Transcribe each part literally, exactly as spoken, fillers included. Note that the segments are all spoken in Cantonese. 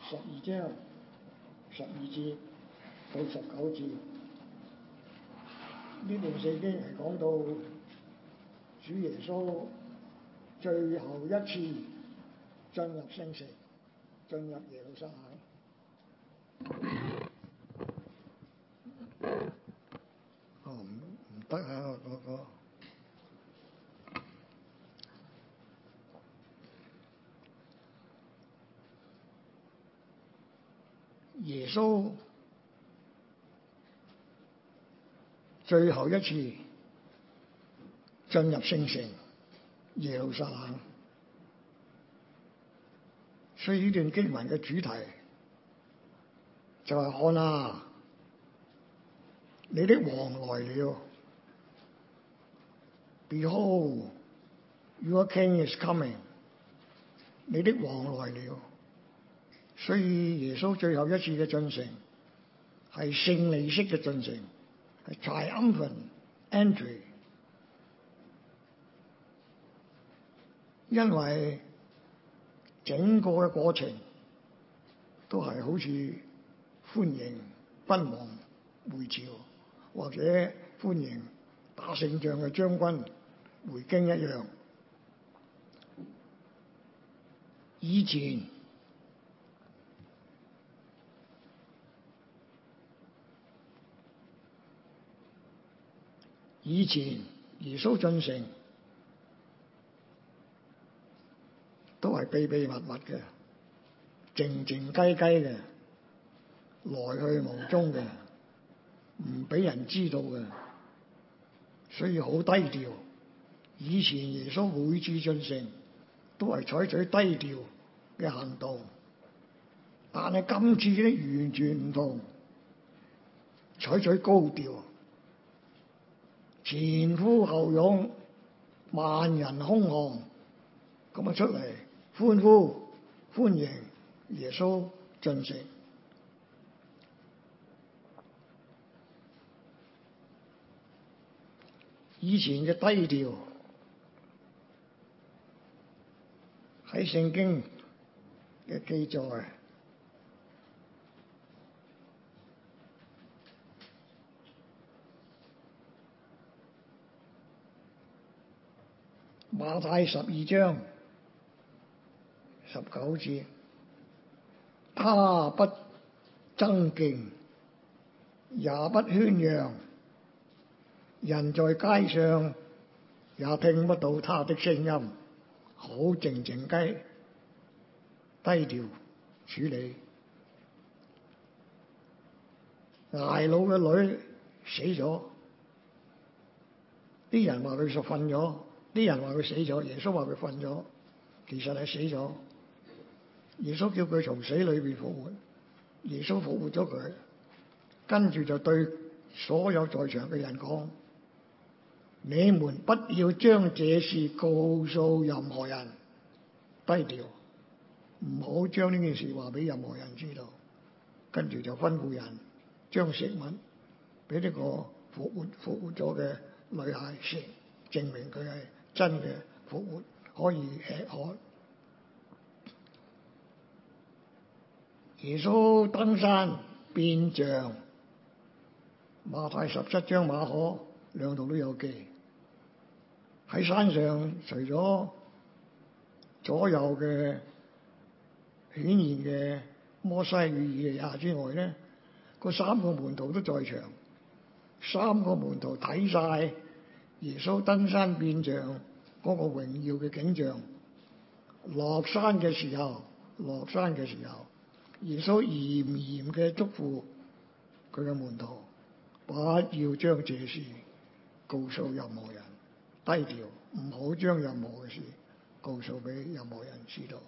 十二章十二節到十九節，呢段聖經係講到主耶穌最後一次進入聖城，進入耶路撒冷。哦，唔唔得啊！嗰個耶穌最後一次進入聖城耶路撒冷，所以呢段經文嘅主題就係看啊，你的王來了 ，Behold, your king is coming， 你的王來了。所以耶穌最後一次嘅進城係勝利式嘅進城，係 triumphant entry， 因為整個嘅過程都係好似歡迎君王回朝，或者歡迎打勝仗嘅將軍回京一樣。以前以前耶穌進城都係秘秘密密嘅，靜靜雞雞嘅，來去無蹤嘅，唔俾人知道嘅，所以好低調。以前耶穌每次進城都係採取低調嘅行動，但係今次咧完全唔同，採取高調，前呼後擁，萬人空巷咁啊出嚟歡呼歡迎耶穌進城。以前嘅低調喺聖經嘅記載，馬太十二章十九節，他不爭競，也不喧嚷，人在街上也聽不到他的聲音，好靜靜雞，低調處理。睚魯嘅女死咗，啲人話佢就瞓咗，啲人話佢死咗，耶穌話佢瞓咗，其實係死咗。耶穌叫佢從死裏邊復活，耶穌復活咗佢，跟住就對所有在場嘅人講：你們不要將這事告訴任何人，低調，唔好將呢件事話俾任何人知道。跟住就吩咐人將食物俾呢個復活復活咗嘅女孩食，證明佢係真嘅復活，可以吃喝。耶穌登山變像，馬太十七章馬可兩度都有記。喺山上除咗左右嘅顯現嘅摩西與以利亞之外咧，嗰三個門徒都在場。三個門徒睇晒耶穌登山變像嗰個榮耀嘅景象。落山嘅時候，落山嘅時候，耶穌嚴嚴嘅囑咐佢嘅門徒，不要將這事告訴任何人，低調，唔好將任何嘅事告訴俾任何人知道。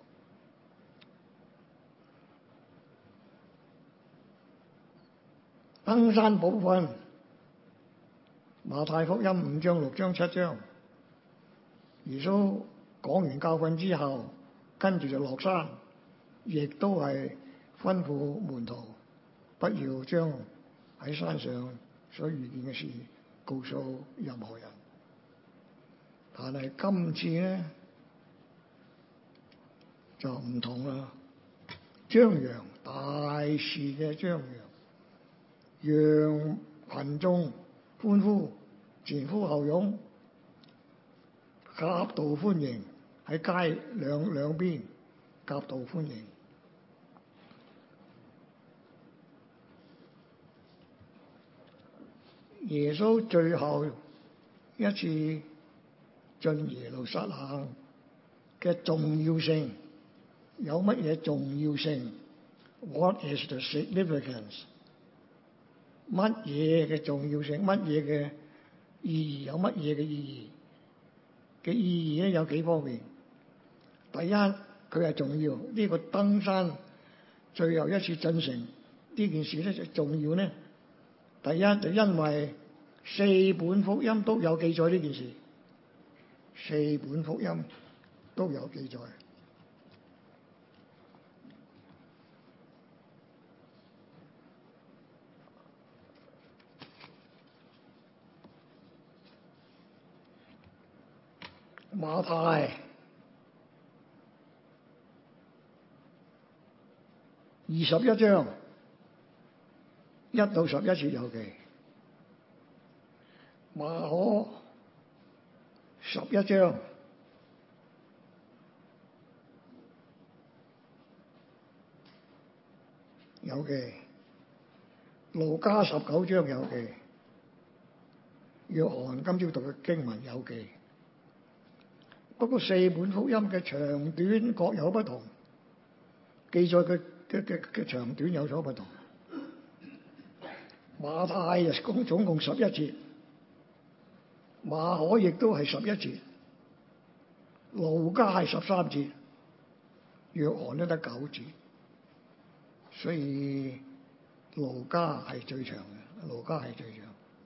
登山寶訓，馬太福音五章、六章、七章，耶穌講完教訓之後，跟住就落山，亦都係吩咐門徒不要將喺山上所遇見嘅事告訴任何人。但係今次咧就唔同啦，張揚大事嘅張揚，讓群眾歡呼，前呼後擁，夾道歡迎，喺街兩兩邊夾道歡迎。耶穌最後一次進耶路撒冷嘅重要性，有乜嘢重要性 ？What is the significance？ 乜嘢嘅重要性？乜嘢嘅意義？有乜嘢嘅意義？嘅意義咧有幾方面。第一，佢係重要，呢、這個登山最後一次進城呢件事咧就重要咧。第一就因為四本福音都有記載呢件事，四本福音都有記載。馬太二十一章一到十一節有記，馬可十一章有記，路加十九章有記，約翰今朝讀嘅經文有記。不過四本福音嘅長短各有不同，記載嘅嘅嘅嘅長短有所不同。馬太就共總共十一節，馬可亦都係十一節，路加係十三節，約翰都得九節，所以路加係最長嘅，路加係最長。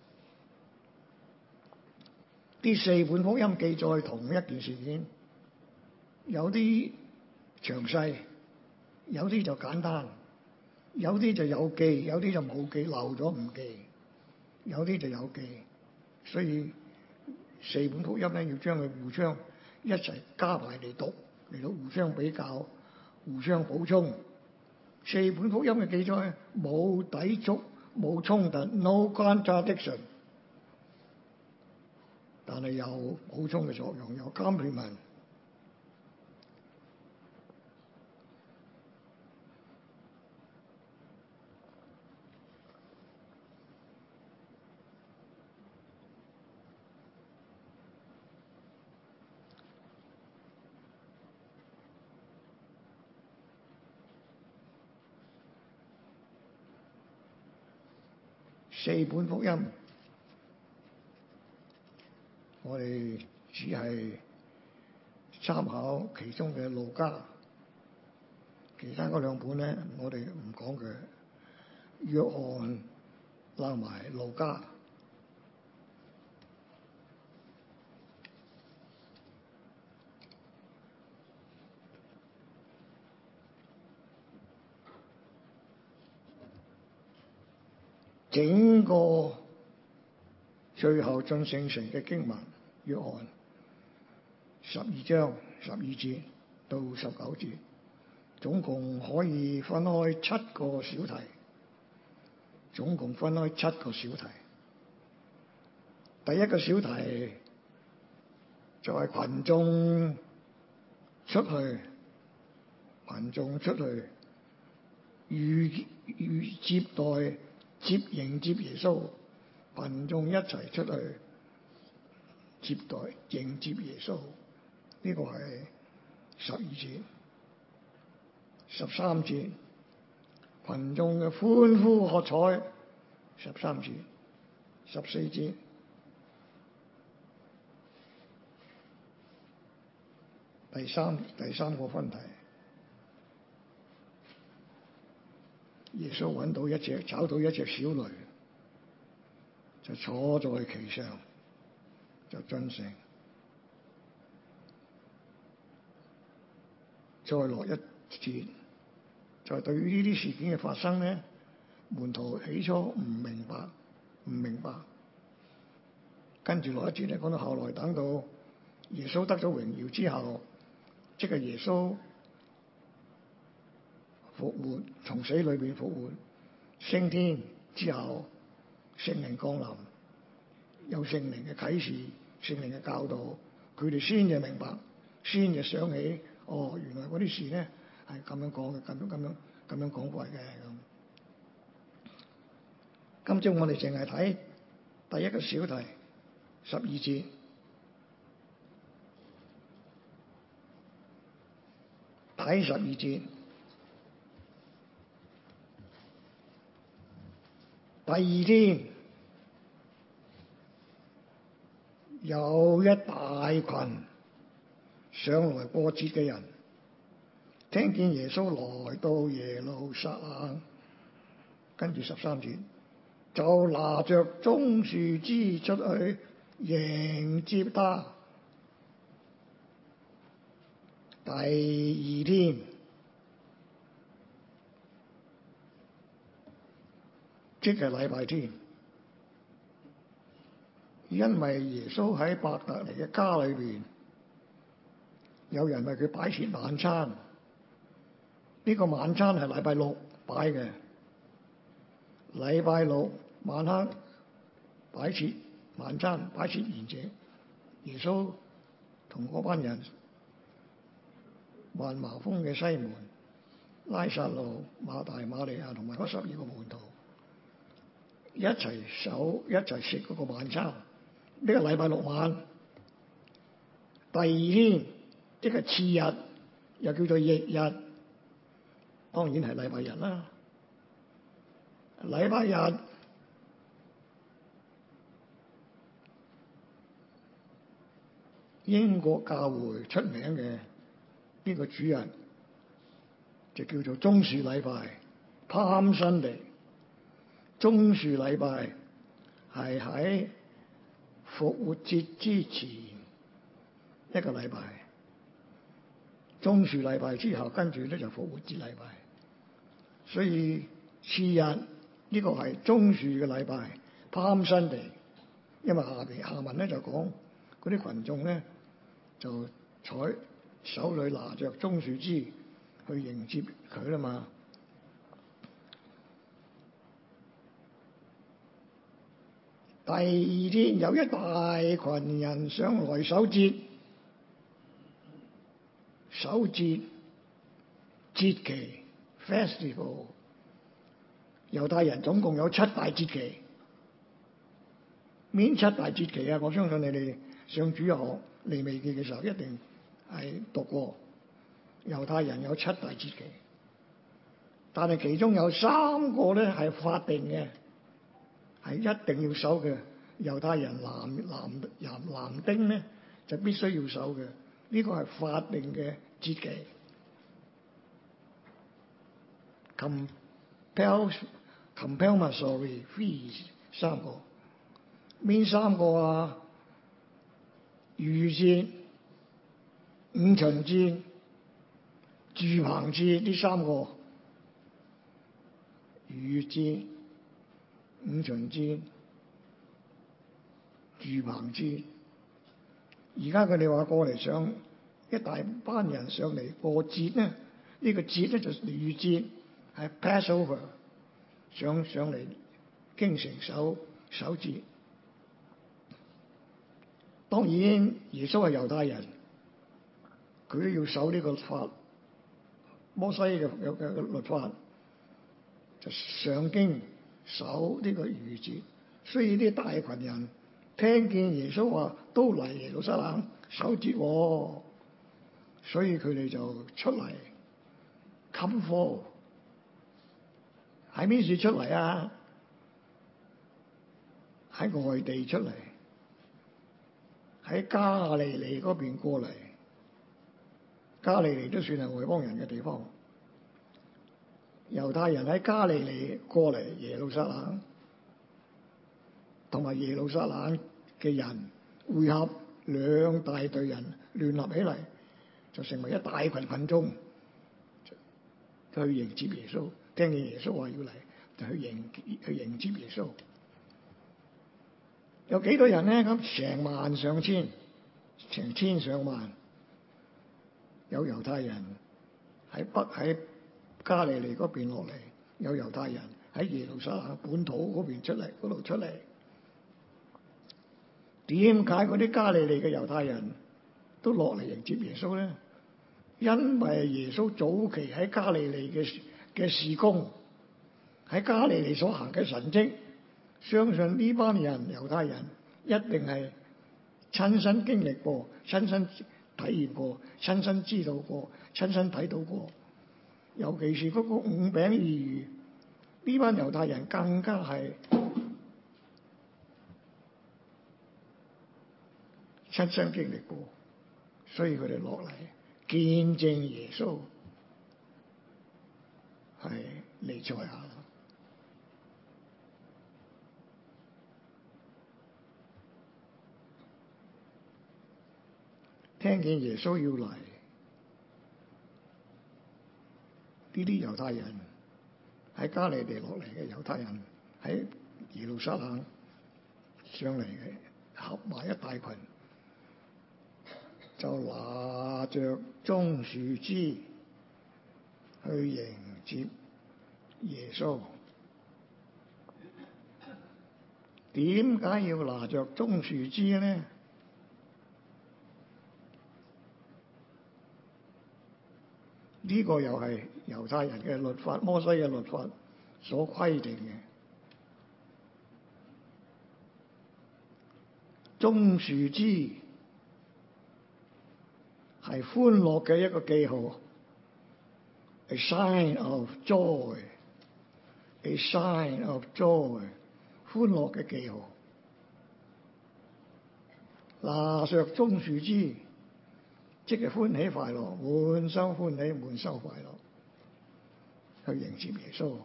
啲四本福音記載同一件事件，有啲詳細，有啲就簡單，有啲就有記，有啲就冇記，漏咗唔記，有啲就有記，所以四本福音咧要將佢互相一齊加埋嚟讀，嚟到互相比較、互相補充。四本福音嘅記載冇抵觸、冇衝突 ，no contradiction。但係有補充嘅作用，有 complement。四本福音，我哋只係參考其中嘅路加，其他嗰兩本咧，我哋唔講佢。約翰拉埋路加，整個最後進聖城嘅經文，約翰十二章十二節到十九節，總共可以分開七個小題，總共分開七個小題。第一個小題就係群眾出去，群眾出去預預接待接迎接耶穌，群眾一齊出去接待迎接耶穌，呢個係十二節。十三節群眾嘅歡呼喝彩，十三節。十四節第三第三個分題，耶穌揾到一隻找到一隻小驢，就坐在其上，就進城。再落一節，就係對於呢啲事件嘅發生咧，門徒起初唔明白，唔明白。跟住落一節咧，講到後來等到耶穌得咗榮耀之後，即係耶穌復活，從死裏邊復活，升天之後，聖靈降臨，有聖靈嘅啟示，聖靈嘅教導，佢哋先至明白，先至想起，哦，原來嗰啲事咧係咁樣講嘅，咁樣咁樣咁樣講法嘅咁。今朝我哋淨係睇第一個小題，十二節。睇十二節，第二天有一大群上來過節嘅人，聽見耶穌來到耶路撒冷，跟住十三節，就拿着棕樹枝出去迎接他。第二天，即係禮拜天，因為耶穌喺伯特尼嘅家裏邊，有人為佢擺設晚餐。呢、這個晚餐係禮拜六擺嘅，禮拜六晚黑擺設晚餐，擺設筵席。耶穌同嗰班人，患麻風嘅西門、拉撒路、馬大、馬利亞同埋嗰十二個門徒一齊守一齊食嗰個晚餐。呢、這個禮拜六晚，第二天即係次日，又叫做翌日，當然係禮拜日啦。禮拜日英國教會出名嘅呢個主日就叫做棕樹禮拜 Palm Sunday。棕樹禮拜係喺復活節之前一個禮拜，棕樹禮拜之後跟住咧就復活節禮拜，所以次日呢個係棕樹嘅禮拜 Palm Sunday。因為下邊下文咧就講嗰啲群眾咧就採手裏拿着棕樹枝去迎接佢啦嘛。第二天有一大群人上來守節，守節節期 festival。猶太人總共有七大節期，邊七大節期啊？我相信你哋上主日學利未記嘅時候一定係讀過。猶太人有七大節期，但係其中有三個咧係法定嘅，係一定要守嘅。猶太人男男男男丁咧就必須要守嘅，呢個係法定嘅節期。compel compulsory fees 三個，邊三個啊？逾節、五旬節、住棚節呢三個。逾節、五旬節、住棚節。而家佢哋話過嚟上一大班人上嚟過節咧，呢、這個節咧就逾節，係 Passover， 上上嚟京城守守節。當然耶穌係猶太人，佢都要守呢個法，摩西嘅嘅嘅律法，就上京守呢個逾節。所以啲大群人聽見耶穌話都嚟耶路撒冷守節，哦，所以佢哋就出嚟 come forth。喺邊處出嚟啊？喺外地出嚟，喺加利利嗰邊過嚟。加利利都算係外邦人嘅地方。猶太人喺加利利過嚟耶路撒冷，同埋耶路撒冷嘅人匯合，兩大隊人聯合起嚟，就成為一大群群眾，去迎接耶穌。聽見耶穌話要嚟，就去迎去迎接耶穌。有幾多人咧？咁成萬上千，成千上萬。有猶太人喺北喺加利利嗰邊落嚟，有猶太人喺耶路撒冷本土嗰邊出嚟，嗰度出嚟。點解嗰啲加利利嘅猶太人都落嚟迎接耶穌咧？因為耶穌早期喺加利利嘅嘅事工，喺加利利所行嘅神蹟，相信呢班人猶太人一定係親身經歷過、親身體驗過、親身知道過、親身睇到過。尤其是嗰個五餅二魚，呢班猶太人更加係親身經歷過，所以佢哋落嚟見證耶穌係彌賽亞。聽見耶穌要嚟，呢啲猶太人喺加利利落嚟嘅猶太人喺耶路撒冷上嚟嘅，合埋一大群，就拿着棕樹枝去迎接耶穌。點解要拿着棕樹枝呢？呢個又係猶太人嘅律法，摩西嘅律法所規定嘅。棕樹枝係歡樂嘅一個記號 ，a sign of joy，a sign of joy， 歡樂嘅記號。拿着棕樹枝，即係歡喜快樂，滿心歡喜，滿心快樂，去迎接耶穌。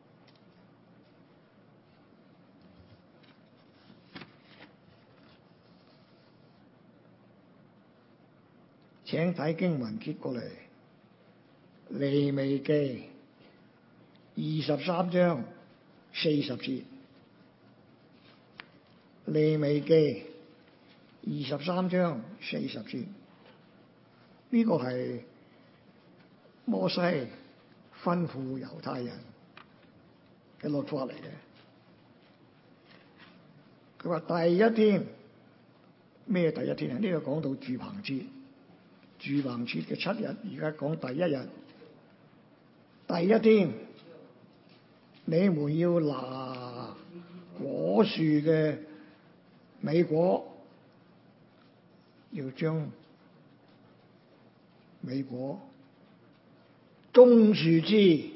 請睇經文揭過嚟，利未記二十三章四十節。利未記二十三章四十節，呢個係摩西吩咐猶太人嘅律法嚟嘅。佢話第一天，咩第一天啊？呢個講到住棚節，住棚節嘅七日，而家講第一日。第一天，你們要拿果樹嘅尾果，要將尾果、棕樹枝、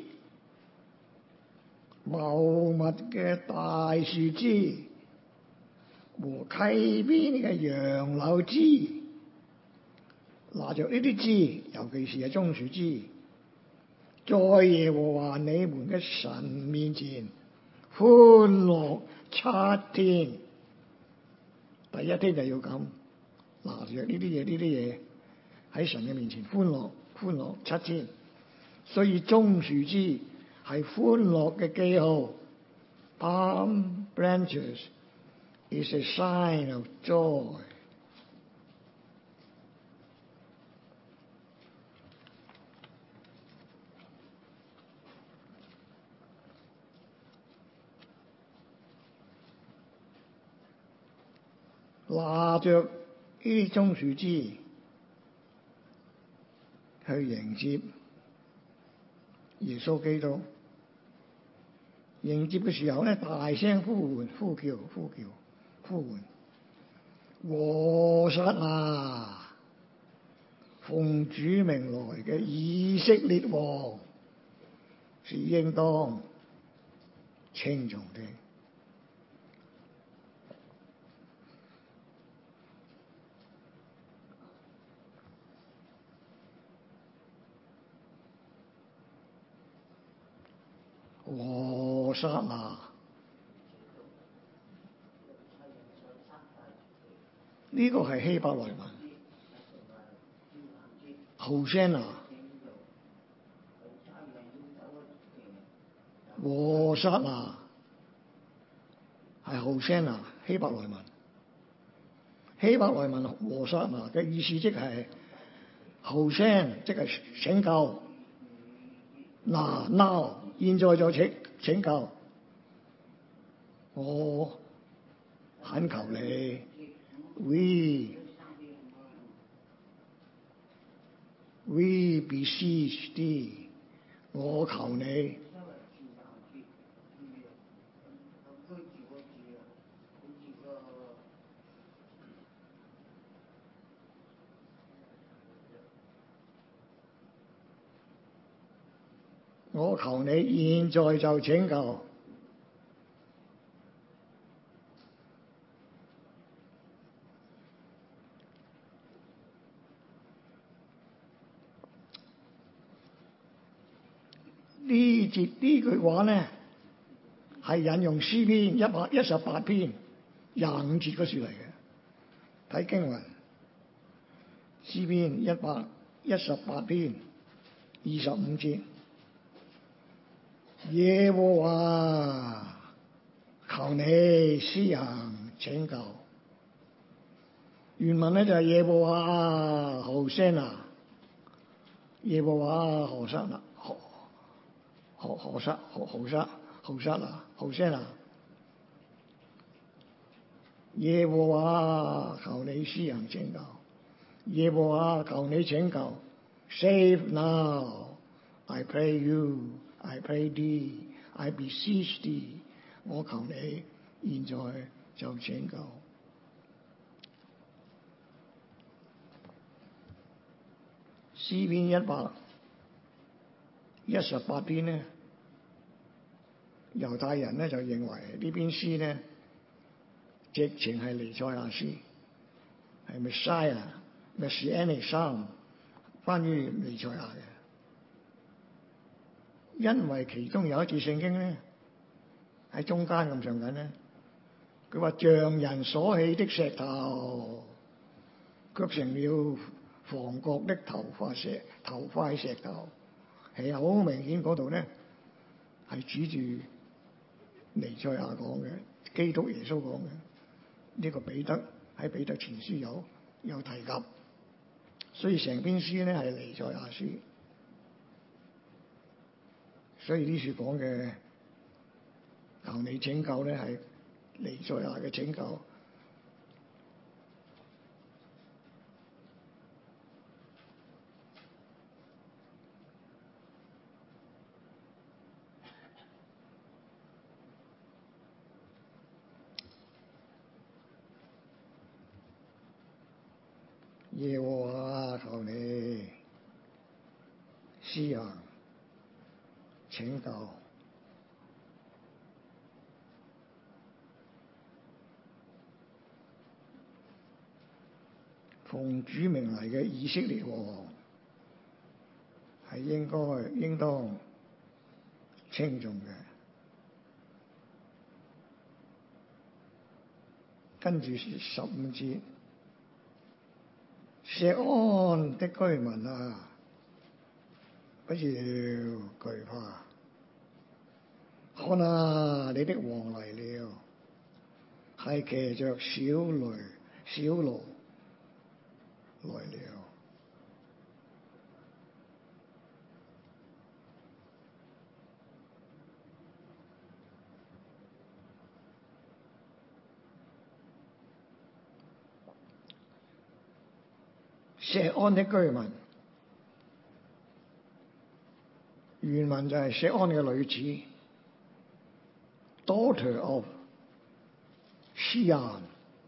茂密嘅大樹枝和溪邊嘅楊柳枝，拿着呢啲枝，尤其是係棕樹枝，在耶和華你們嘅神面前歡樂七天。第一天就要咁拿着呢啲嘢，呢啲嘢喺神嘅面前歡樂，歡樂七天。所以棕樹枝係歡樂嘅記號。Palm branches is a sign of joy。拿着呢啲棕樹枝去迎接耶穌基督，迎接嘅時候咧，大聲呼喚、呼叫、呼叫、呼喚，和散那，奉主名來嘅以色列王是應當稱頌的。和散那，呢個係希伯來文。Hosanna，和散那係 Hosanna，希伯來文。希伯來文和散那嘅意思即係 Hosanna，即係拯救。 嗱 now 現在就請請求，我懇求你 we we beseech thee，我求你。我求你現在就請求，呢節呢句話咧係引用詩篇一百一十八篇廿五節嗰處嚟嘅。睇經文，詩篇一百一十八篇二十五節。耶和華，求你施行拯救。原文咧就係耶和華何聲啊，耶和華何聲啊，何何何聲何何聲何聲啊，何聲啊。耶和華求你施行拯救，耶和華求你拯救。Save now, I pray you. I pray thee, I beseech thee， 我求你現在就拯救。詩篇一百一十八篇呢，猶太人呢就認為呢篇詩呢直情係彌賽亞詩，係 Messiah Messianic Psalm， 關於彌賽亞嘅。因為其中有一節聖經咧喺中間咁上緊咧，佢話匠人所起的石頭，卻成了房角的頭塊石頭塊石頭，係好明顯嗰度咧係指住彌賽亞講嘅，基督耶穌講嘅。呢、這個彼得喺彼得前書有有提及，所以成篇詩咧係彌賽亞書。所以呢處講嘅求你拯救咧，係彌賽亞嘅拯救。耶和華求你施行拯救。奉主名嚟嘅以色列王係應該應當稱頌嘅。跟住十五節，錫安的居民啊，不要懼怕。看啊，你的王嚟了，係騎着小驢小驢來了。錫安的居民，原文就係錫安嘅女子 ，Daughter of Zion。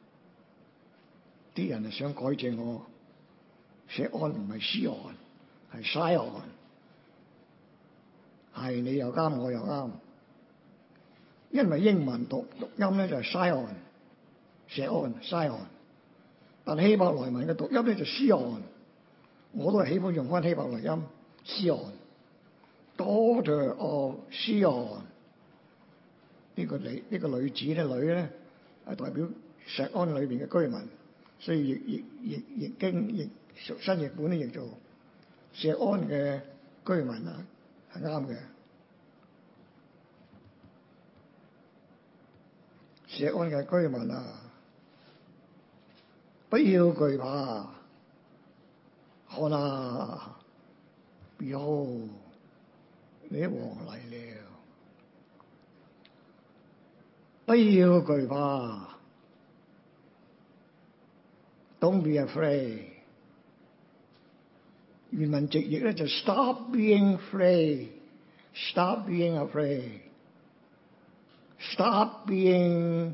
啲人係想改正我，錫安唔係西岸，係西岸，係你又啱，我又啱。因為英文讀讀音咧就係西岸，錫安西岸，但希伯來文嘅讀音咧就西岸，我都係喜歡用翻希伯來音西岸。Daughter of Zion， 呢個女呢、呢個女子咧女咧係代表錫安裏邊嘅居民。所以譯譯譯譯經譯新譯本咧譯做錫安嘅居民啊，係啱嘅。錫安嘅居民啊，不要懼怕。看啊 ，Behold， 你的王嚟了，不要懼怕。Don't be afraid。原文直譯咧就 Stop being afraid。Stop being afraid。Stop being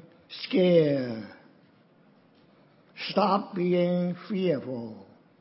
scared。Stop being fearful。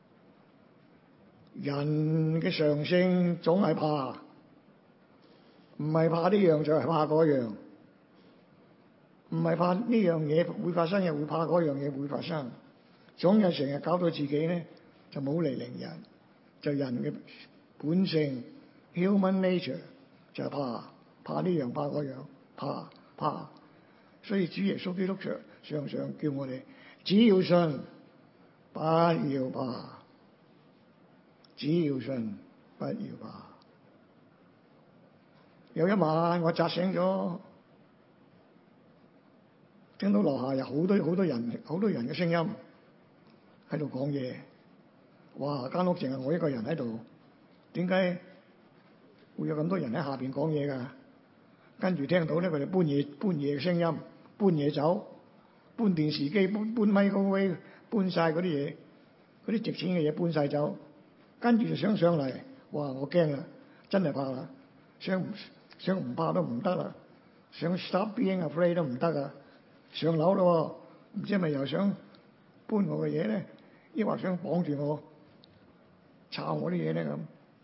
人嘅常性總係怕，唔係怕呢樣就係怕嗰樣，唔係怕呢樣嘢會發生，又會怕嗰樣嘢會發生。總有成日搞到自己咧就冇嚟凌人，就人嘅本性 human nature 就係怕，怕呢樣怕嗰樣，怕怕。所以主耶穌基督常常常叫我哋只要信，不要怕。只要信，不要怕。有一晚我扎醒咗，聽到樓下有好多好多人好多人嘅聲音喺度講嘢。哇！間屋淨係我一個人喺度，點解會有咁多人喺下邊講嘢㗎？跟住聽到咧，佢哋搬嘢搬嘢嘅聲音，搬嘢走，搬電視機，搬搬 microwave，搬晒嗰啲嘢，嗰啲值錢嘅嘢搬晒走。跟住就想上嚟，哇！我驚啦，真係怕啦，想想唔怕都唔得啦，想 stop being afraid 都唔得啊！上樓咯，唔知係咪又想搬我嘅嘢咧，抑或想綁住我，抄我啲嘢咧咁。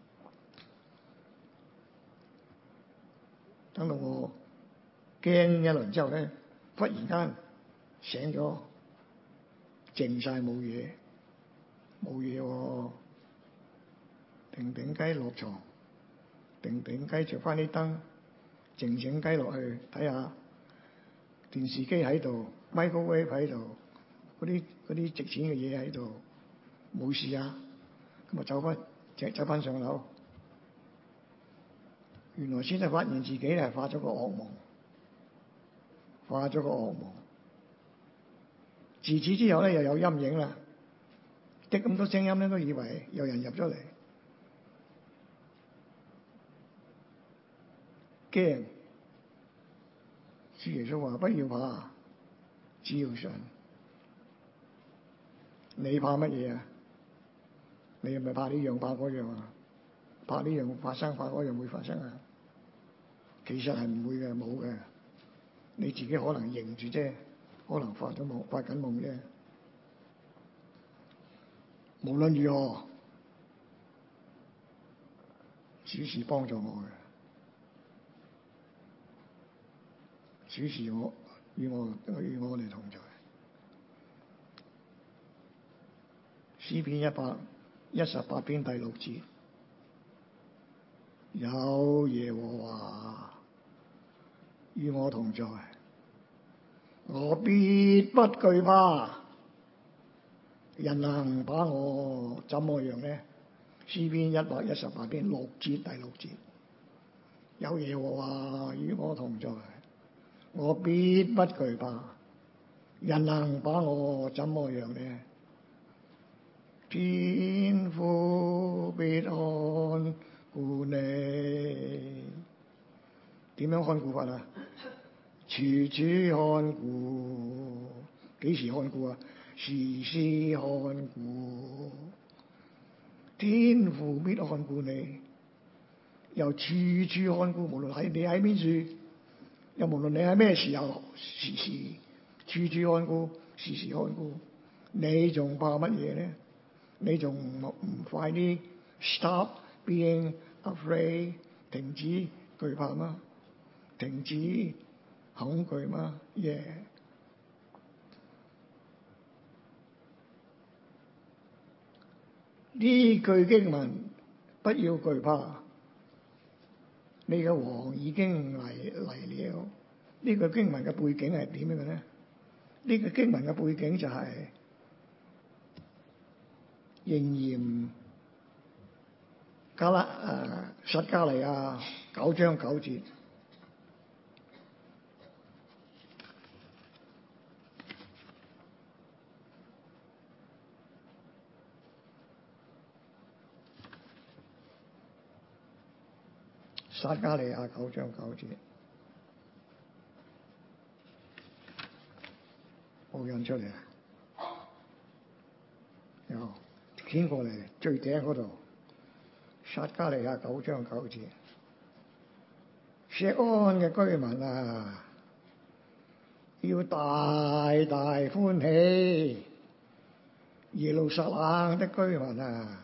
等到我驚一輪之後咧，忽然間醒咗，靜晒冇嘢，冇嘢喎。靜靜雞落床，靜靜雞着翻啲燈，靜靜雞落去睇下電視機喺度 ，microwave 喺度，嗰啲嗰啲值錢嘅嘢喺度，冇事啊。咁啊走翻，隻走翻上樓，原來先係發現自己係發咗個惡夢，發咗個惡夢。自此之後咧，又有陰影啦，啲咁多聲音咧，都以為有人入咗嚟。驚，主耶穌話：不要怕，只要信。你怕乜嘢啊？你係咪怕呢樣怕嗰樣啊？怕呢樣發生，怕嗰樣會發生啊？其實係唔會嘅，冇嘅。你自己可能認住啫，可能發咗夢，發緊夢啫。無論如何，主是幫助我嘅。主是我與我與我哋同在。詩篇一百一十八篇第六節，有耶和華與我同在，我必不懼怕。人能把我怎麼樣呢？詩篇一百一十八篇六節第六節，有耶和華與我同在，我必不懼怕。人能把我怎麼樣呢？天父必看顧你。點樣看顧法啊？處處看顧。幾時看顧啊？時時看顧。天父必看顧你，又處處看顧，無論喺你喺邊處，又無論你喺咩時候，時時處處看顧，時時看顧。你仲怕乜嘢咧？你仲唔唔快啲 stop being afraid， 停止懼怕嗎？停止恐懼嗎？耶、yeah！呢句經文，不要懼怕，你嘅王已經嚟嚟了。呢句經文嘅背景係點樣嘅咧？呢句經文嘅背景就係、是。應驗加拉誒撒迦利亞九章九節， 撒迦利亞九章九節，冇印出嚟啊！有掀過嚟最頂嗰度，撒迦利亞九章九節，錫安嘅居民啊，要大大歡喜；耶路撒冷的居民啊，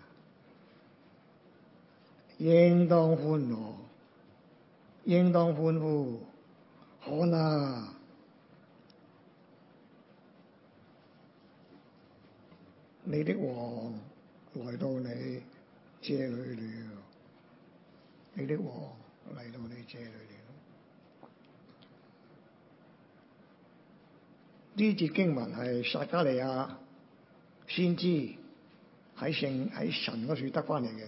應當歡樂，應當歡呼。看啊，你的王來到你這裡了，你的王嚟到你這裡了。呢節經文係撒迦利亞先知喺聖喺神嗰處得翻嚟嘅。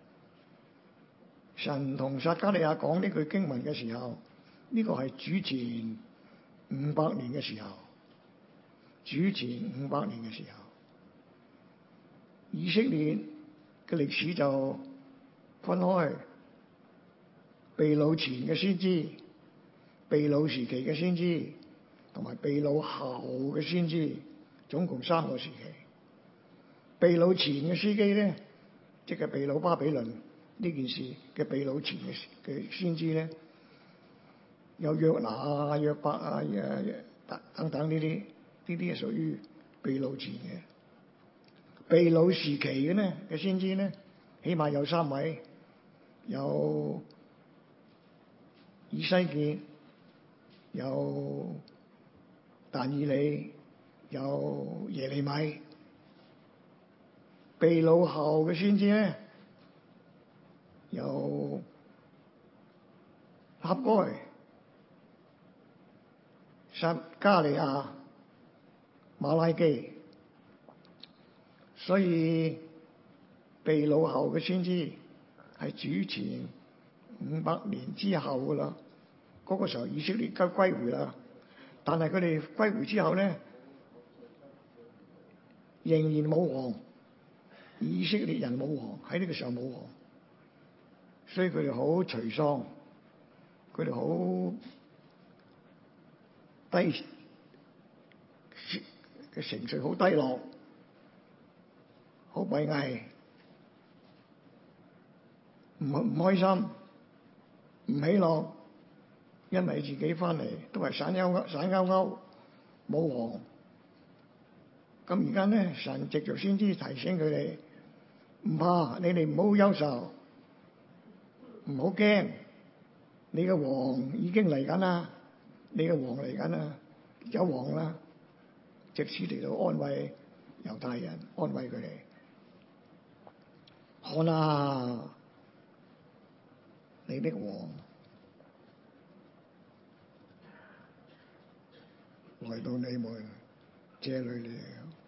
神同撒迦利亞講呢句經文嘅時候，呢、這個係主前五百年嘅時候，主前五百年嘅時候，以色列嘅歷史就分開被擄前嘅先知、被擄時期嘅先知，同埋被擄後嘅先知，總共三個時期。被擄前嘅司機咧，即係被擄巴比倫呢件事嘅被擄前嘅嘅先知咧，有約拿啊、約伯啊、等等呢啲，呢啲係屬於被擄前嘅。被擄時期嘅咧嘅先知咧，起碼有三位，有以西結，有但以理，有耶利米。被擄後嘅先知咧，有哈該、撒迦利亞、馬拉基。所以被擄後嘅先知係主前五百年之後噶啦，嗰、那個時候以色列都歸回啦。但係佢哋歸回之後咧，仍然冇王，以色列人冇王，喺呢個時候冇王，所以佢哋好沮喪，佢哋好低嘅情緒，好低落，好閉翳，唔唔開心，唔喜樂，因為自己翻嚟都係散悠悠散勾勾，冇王。咁而家咧，神藉著先知提醒佢哋，唔怕，你哋唔好憂愁，唔好驚，你嘅王已經嚟緊啦，你嘅王嚟緊啦，有王啦，藉此嚟到安慰猶太人，安慰佢哋。看啊，你的王來到你們這裡了。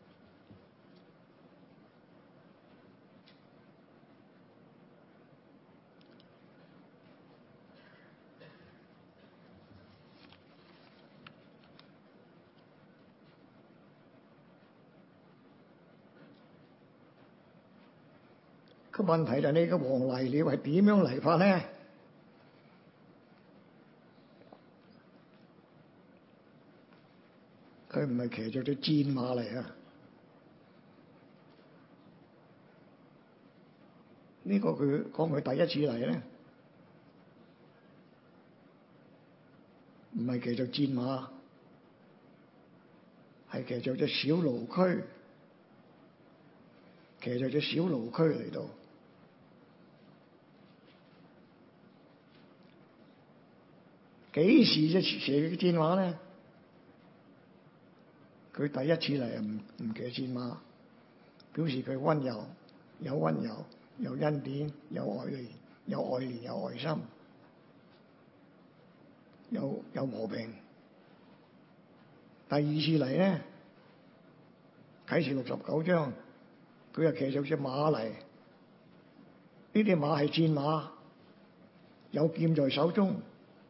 個問題就係你個王嚟了係點樣嚟法咧？佢唔係騎著隻戰馬嚟啊！呢、這個佢講佢第一次嚟咧，唔係騎著戰馬，係騎著隻小驢駒，騎著隻小驢駒嚟到。幾時隻騎嘅戰馬咧？佢第一次嚟啊，唔唔騎戰馬，表示佢溫柔，有溫柔，有恩典，有愛憐，有愛憐，有愛心，有有和平。第二次嚟咧，啟示錄十九章，佢又騎上隻馬嚟，呢啲馬係戰馬，有劍在手中。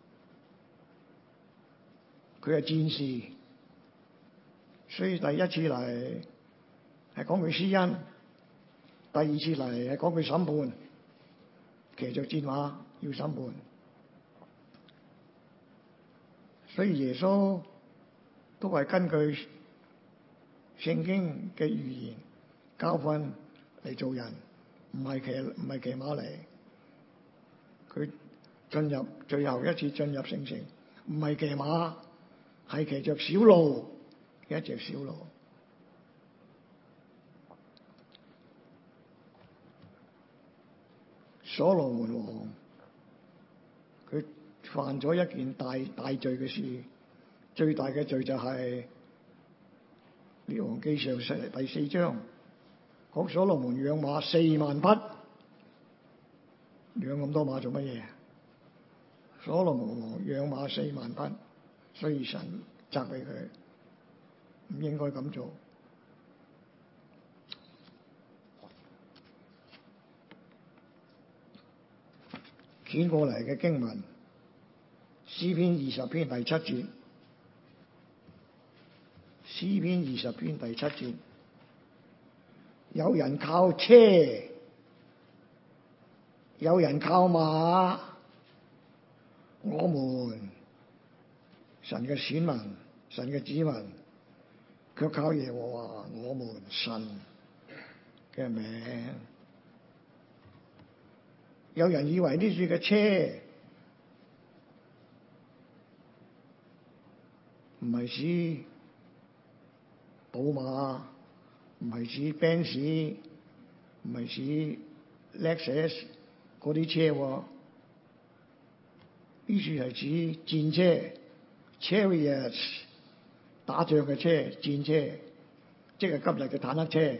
佢係戰士，所以第一次嚟係講佢施恩，第二次嚟係講佢審判，騎着戰馬要審判。 所以耶穌都係根據聖經嘅預言教訓嚟做人，唔係騎唔係騎馬嚟。佢進入最後一次進入聖城，唔係騎馬，係騎着小驢，一隻小驢。所羅門王佢犯咗一件大大罪嘅事，最大嘅罪就係列王記上第四章講所羅門養馬四萬匹，養咁多馬做乜嘢？所羅門王養馬四萬匹，所以神責備佢唔應該咁做。捲過嚟嘅經文，詩篇二十篇第七節，詩篇二十篇第七節，有人靠車，有人靠馬，我們神嘅選民，神嘅子民，卻靠耶和華我們神嘅名。有人以為呢處嘅車唔係指寶馬，唔係指 Benz， 唔係指 Lexus 嗰啲車喎。呢處係指戰車 chariots， 打仗嘅車，戰車，即係今日嘅坦克車。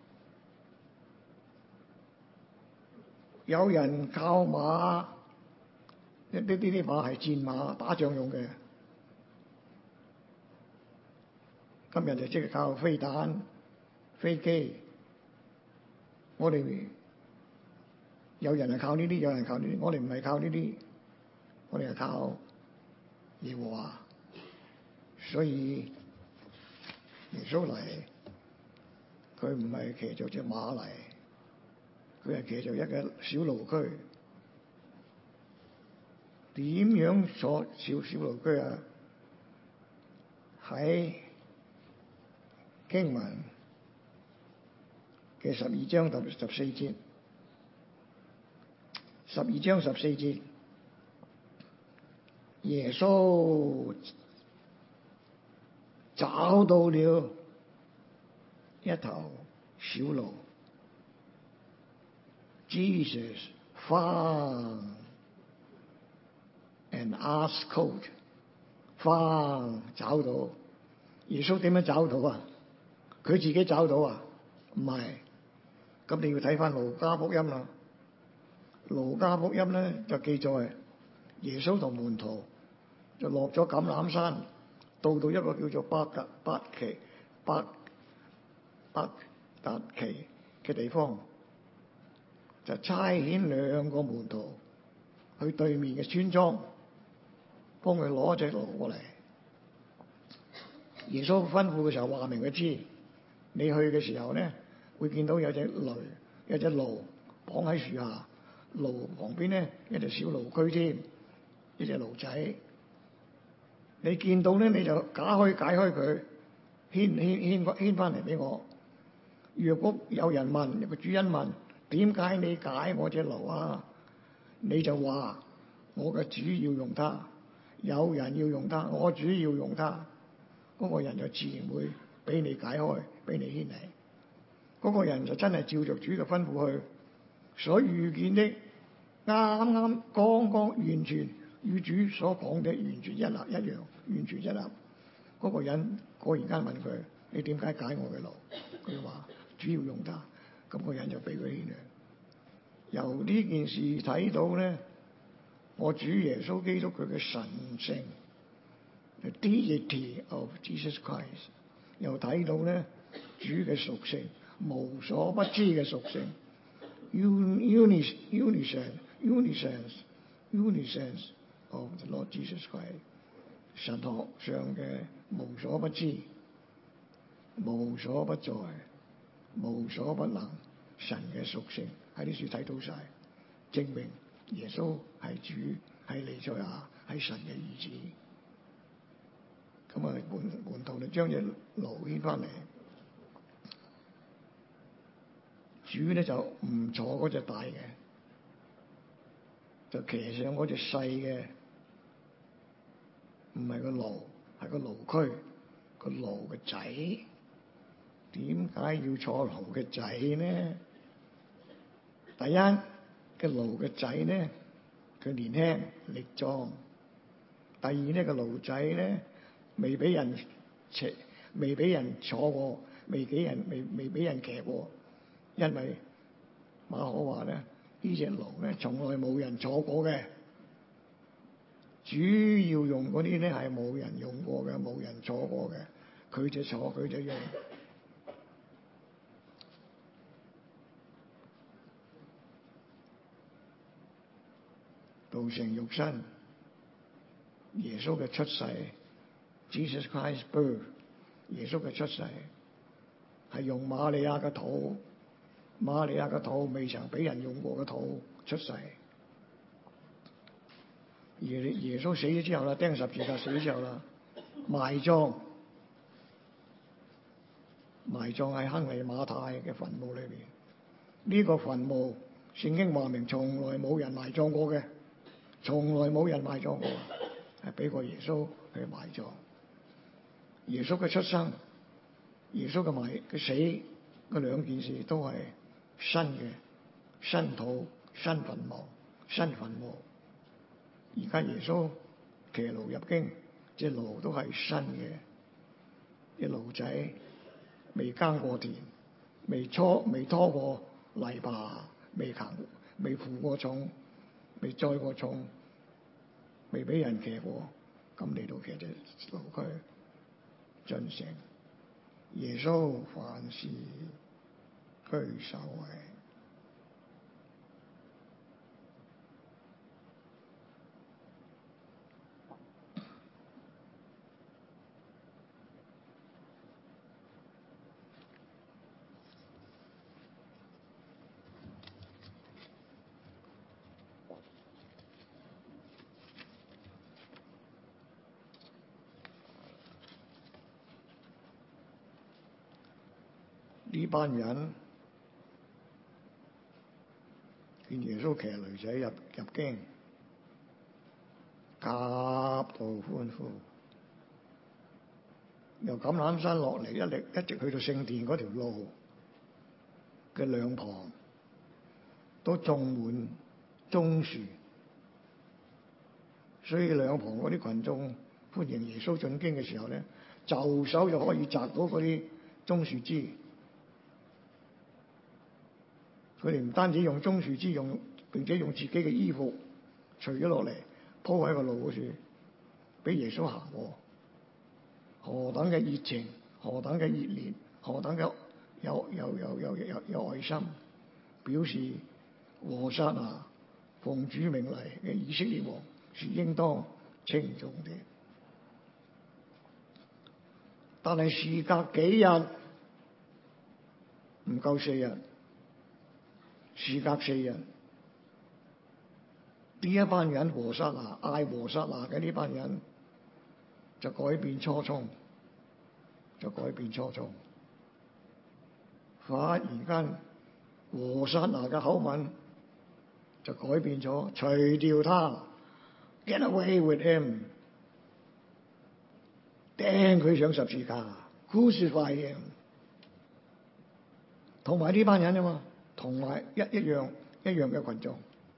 有人靠馬，呢啲啲馬係戰馬，打仗用嘅。今日就即係靠飛彈、飛機。我哋有人係靠呢啲，有人靠呢啲。我哋唔係靠呢啲，我哋係靠耶和華。所以耶穌嚟，佢唔係騎著隻馬嚟。佢係騎著一個小驢駒。點樣坐小小驢駒啊？喺經文嘅十二章十十四節，十二章十四節，耶穌找到了一頭小驢。Jesus found an ass colt. Found 找到。耶穌點樣找到啊？佢自己找到啊？唔係。咁你要睇翻路加福音啦。路加福音咧就記載耶穌同門徒就落咗橄欖山，到到一個叫做伯特伯奇伯伯達奇嘅地方。就差遣兩個門徒去對面嘅村莊，幫佢攞隻驢過嚟。耶穌吩咐嘅時候話明佢知，你去嘅時候咧會見到有隻驢，有隻驢綁喺樹下，驢旁邊咧一隻小驢駒添，一隻驢仔。你見到咧你就解開解開佢，牽牽牽牽翻嚟俾我。若果有人問，有個主人問，點解你解我隻驢啊？你就話我嘅主要用它，有人要用它，我主要用它，嗰、那個人就自然會俾你解開，俾你牽嚟。嗰、那個人就真係照着主嘅吩咐去，所遇見的啱啱剛剛完全與主所講的完全一立一樣，完全一立。嗰、那個人果然間問佢：你點解解我嘅驢？佢話主要用它。咁個人就俾佢牽嚟。由呢件事睇到咧，我主耶穌基督佢嘅神性 ，the deity of Jesus Christ， 又睇到咧主嘅屬性，無所不知嘅屬性 ，unis unisens unisens unisens of the Lord Jesus Christ， 神學上嘅無所不知、無所不在、無所不能，神嘅屬性喺呢處睇到晒，證明耶穌係主，係彌賽亞，係神嘅兒子。 咁啊門門徒就將隻驢牽翻嚟，主咧就唔坐嗰隻大嘅，就騎上嗰隻細嘅，唔係個驢，係個驢駒，個驢嘅仔。點解要坐驢嘅仔呢？第一，個驢嘅仔咧，佢年輕力壯；第二咧，個驢仔咧未俾人騎，未俾人坐過，未俾人未未俾人騎過。因為馬可話咧，呢隻驢咧從來冇人坐過嘅，主要用嗰啲咧係冇人用過嘅，冇人坐過嘅，佢就坐，佢就用。道成肉身，耶穌嘅出世 ，Jesus Christ's birth， 耶穌嘅出世係用瑪利亞嘅肚，瑪利亞嘅肚未曾俾人用過嘅肚出世。而耶穌死咗之後啦，釘十字架死咗之後啦，埋葬，埋葬喺亨利馬太嘅墳墓裏邊。呢、這個墳墓聖經話明，從來冇人埋葬過嘅。從來冇人埋葬過，係俾過耶穌去埋葬。耶穌嘅出生、耶穌嘅埋嘅死，嗰兩件事都係新嘅，新土、新墳墓、新墳墓。而家耶穌騎驢入京，隻驢都係新嘅，隻驢仔未耕過田，未拖未拖過泥巴，未行未負過重。未載過重，未俾人騎過，咁嚟到騎隻驢駒進城。耶穌凡事居首位。呢班人見耶穌騎驢仔入入京，夾道歡呼，由橄欖山落嚟，一力一直去到聖殿嗰條路嘅兩旁都種滿棕樹，所以兩旁嗰啲群眾歡迎耶穌進京嘅時候咧，就手就可以摘到嗰啲棕樹枝。佢哋唔單止用棕樹枝，用並且用自己嘅衣服除咗落嚟鋪喺個路嗰處，俾耶穌行過。何等嘅熱情，何等嘅熱烈，何等嘅有有有有有有愛心，表示和散那奉主名嚟嘅以色列王是應當稱頌的。但係事隔幾日，唔夠四日。事隔四日，呢一班人和散那嗌和散那嘅呢班人就改變初衷，就改變初衷，忽然間和散那嘅口吻就改變咗，除掉他 ，get away with him， 釘佢上十字架 ，crucify him， 同埋呢班人啊嘛。同埋一一樣一樣嘅群眾，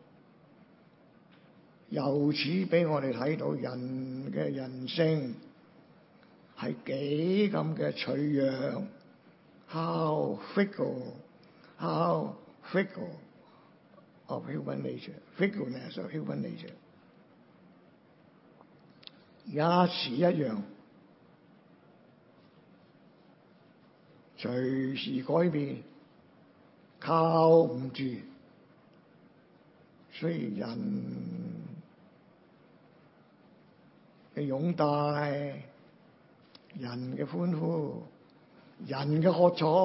由此俾我哋睇到人嘅人性係幾咁嘅脆弱 ，how fickle, how fickle of human nature, fickleness of human nature， 一時一樣，隨時改變。靠唔住，所以人嘅擁戴、人嘅歡呼、人嘅喝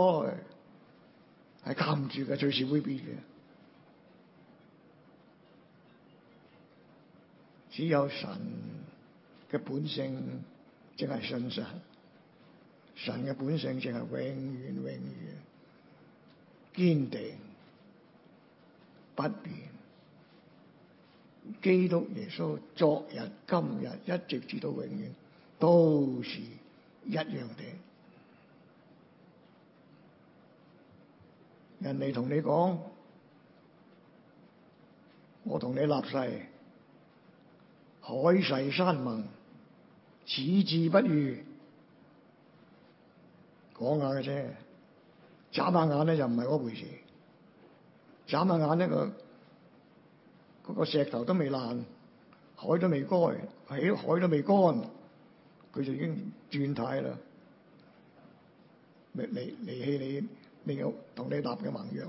彩，係靠唔住嘅，隨時會變嘅。只有神嘅本性即係信神。神嘅本性淨係永遠永遠堅定不變。基督耶穌昨日今日一直至到永遠都是一樣的。人哋同你講，我同你立誓，海誓山盟，矢志不渝，講下嘅啫，眨下眼咧就唔係嗰回事。眨下眼呢個嗰個石頭都未爛，海都未乾，喺海都未乾，佢就已經轉態啦，離離離棄你，你有同你立嘅盟約啦。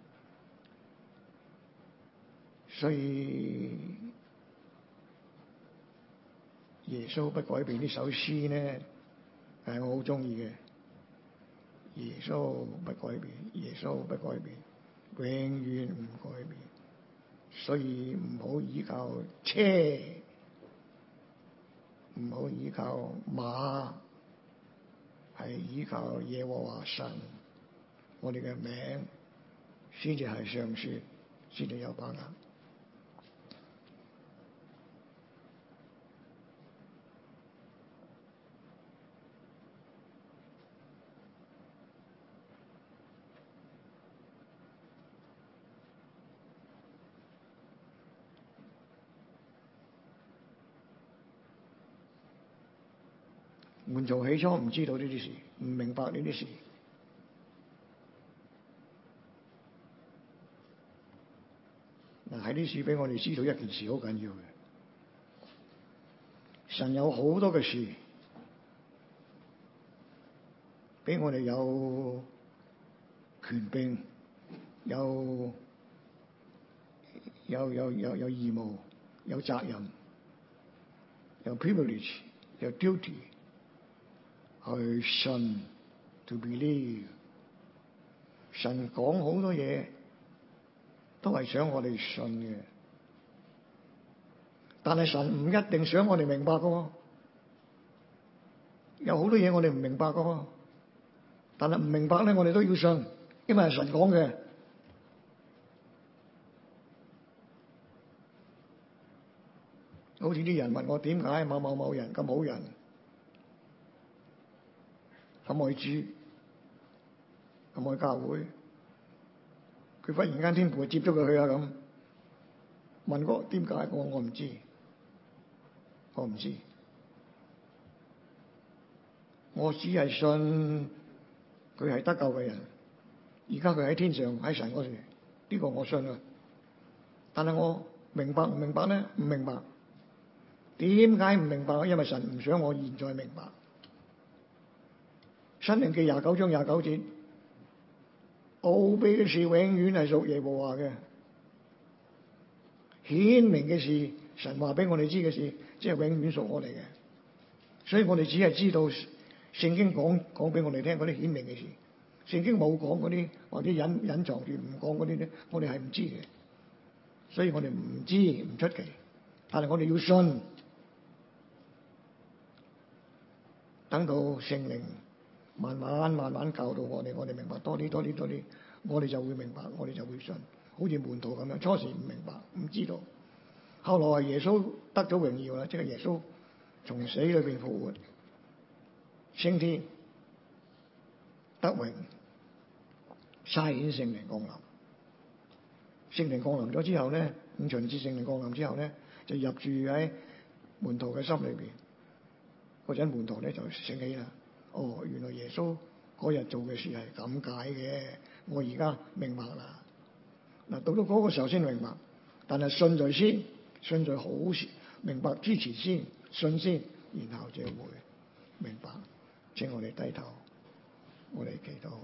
所以耶穌不改變呢首詩呢，係我好中意嘅。耶穌不改變，耶穌不改變，永遠唔改變。所以唔好依靠車，唔好依靠馬，係依靠耶和華神。我哋嘅名先至係上說，先至有把握。門徒起初唔知道呢啲事，唔明白呢啲事。嗱，喺呢處俾我哋知道一件事好緊要嘅，神有好多嘅事俾我哋有權柄，有有有有有義務，有責任，有 privilege， 有 duty。去信 to believe。 神講好多嘢都係想我哋信嘅，但係神唔一定想我哋明白噶。有好多嘢我哋唔明白噶，但係唔明白咧，我哋都要信，因為係神講嘅。好似啲人問我點解某某某人咁好人，咁愛主，咁愛教會，佢忽然間天父接咗佢去啊咁，問我點解？我我唔知，我唔知，我只係信佢係得救嘅人，而家佢喺天上喺神嗰度，呢個我信啊。但係我明白唔明白咧？唔明白。點解唔明白？因為神唔想我現在明白。申命記廿九章廿九節，奧秘嘅事永遠係屬耶和華嘅，顯明嘅事，神話俾我哋知嘅事，即係永遠屬我哋嘅。所以我哋只係知道聖經講講俾我哋聽嗰啲顯明嘅事，聖經冇講嗰啲或者隱隱藏住唔講嗰啲咧，我哋係唔知嘅。所以我哋唔知唔出奇，但係我哋要信，等到聖靈慢慢慢慢教導我哋，我哋明白多啲多啲多啲，我哋就會明白，我哋就會信。好似門徒咁樣，初時唔明白唔知道，後來係耶穌得咗榮耀啦，即係耶穌從死裏邊復活，升天得榮，差遣聖靈降臨。聖靈降臨咗之後咧，五旬節聖靈降臨之後咧，就入住喺門徒嘅心裏邊。嗰陣門徒咧就醒起啦，哦，原來耶穌嗰日做嘅事係咁解嘅，我而家明白啦。嗱，到到嗰個時候先明白，但係信在先，信在好事，明白之前先，信先，然後就會明白。請我哋低頭，我哋祈禱，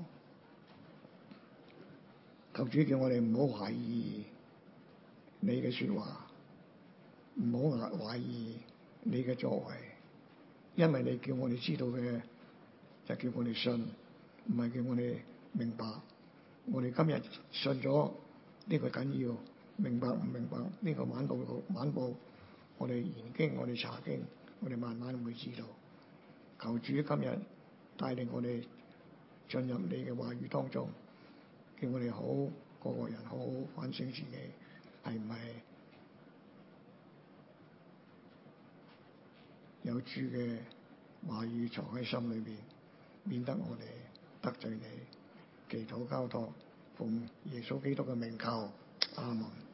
求主叫我哋唔好懷疑你嘅說話，唔好懷疑你嘅作為。因為你叫我哋知道嘅，就叫我哋信，唔係叫我哋明白。我哋今日信咗呢個緊要，明白唔明白呢個晚報晚報，我哋研經，我哋查經，我哋慢慢會知道。 求主今日帶領我哋進入你嘅話語當中，叫我哋好個個人好好反省自己，係唔係有主嘅話語藏喺心裏邊，免得我哋得罪你。祈禱交託，奉耶穌基督嘅名求，阿門。